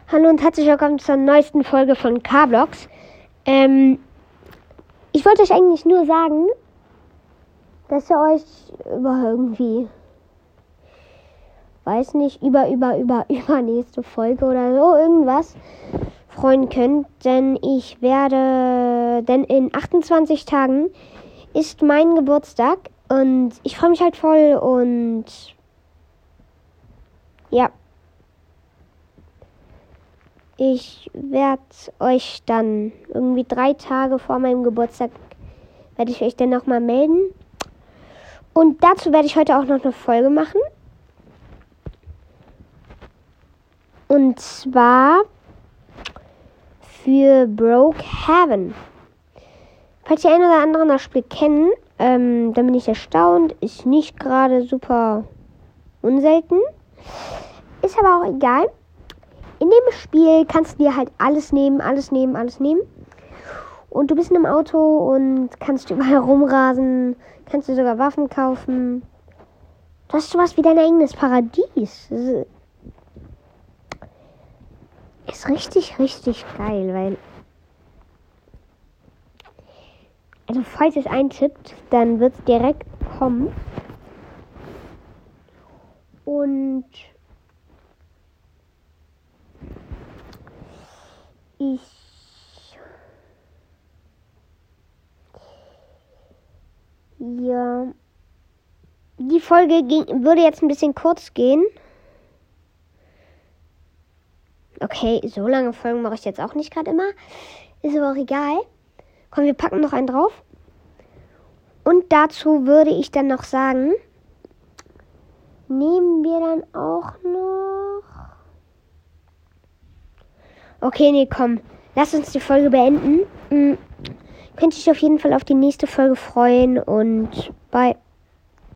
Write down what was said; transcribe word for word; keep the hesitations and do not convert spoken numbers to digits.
Hallo und herzlich willkommen zur neuesten Folge von K-Blogs. Ähm, ich wollte euch eigentlich nur sagen, dass ihr euch über irgendwie, weiß nicht, über, über, über, über nächste Folge oder so irgendwas freuen könnt. Denn ich werde, denn in achtundzwanzig Tagen ist mein Geburtstag und ich freue mich halt voll und ja. Ich werde euch dann irgendwie drei Tage vor meinem Geburtstag, werde ich euch dann nochmal melden. Und dazu werde ich heute auch noch eine Folge machen. Und zwar für Brookhaven. Falls die ein oder anderen das Spiel kennen, ähm, dann bin ich erstaunt. Ist nicht gerade super unselten. Ist aber auch egal. In dem Spiel kannst du dir halt alles nehmen, alles nehmen, alles nehmen. Und du bist in einem Auto und kannst überall rumrasen, kannst dir sogar Waffen kaufen. Du hast sowas wie dein eigenes Paradies. Das ist richtig, richtig geil, weil... Also falls es eintippt, dann wird es direkt kommen. Und... Ich ja die Folge ging, würde jetzt ein bisschen kurz gehen. Okay, so lange Folgen mache ich jetzt auch nicht gerade immer. Ist aber auch egal. Komm, wir packen noch einen drauf. Und dazu würde ich dann noch sagen, nehmen wir dann auch noch... Okay, nee, komm. Lass uns die Folge beenden. Mhm. Könnt ihr euch auf jeden Fall auf die nächste Folge freuen und bye.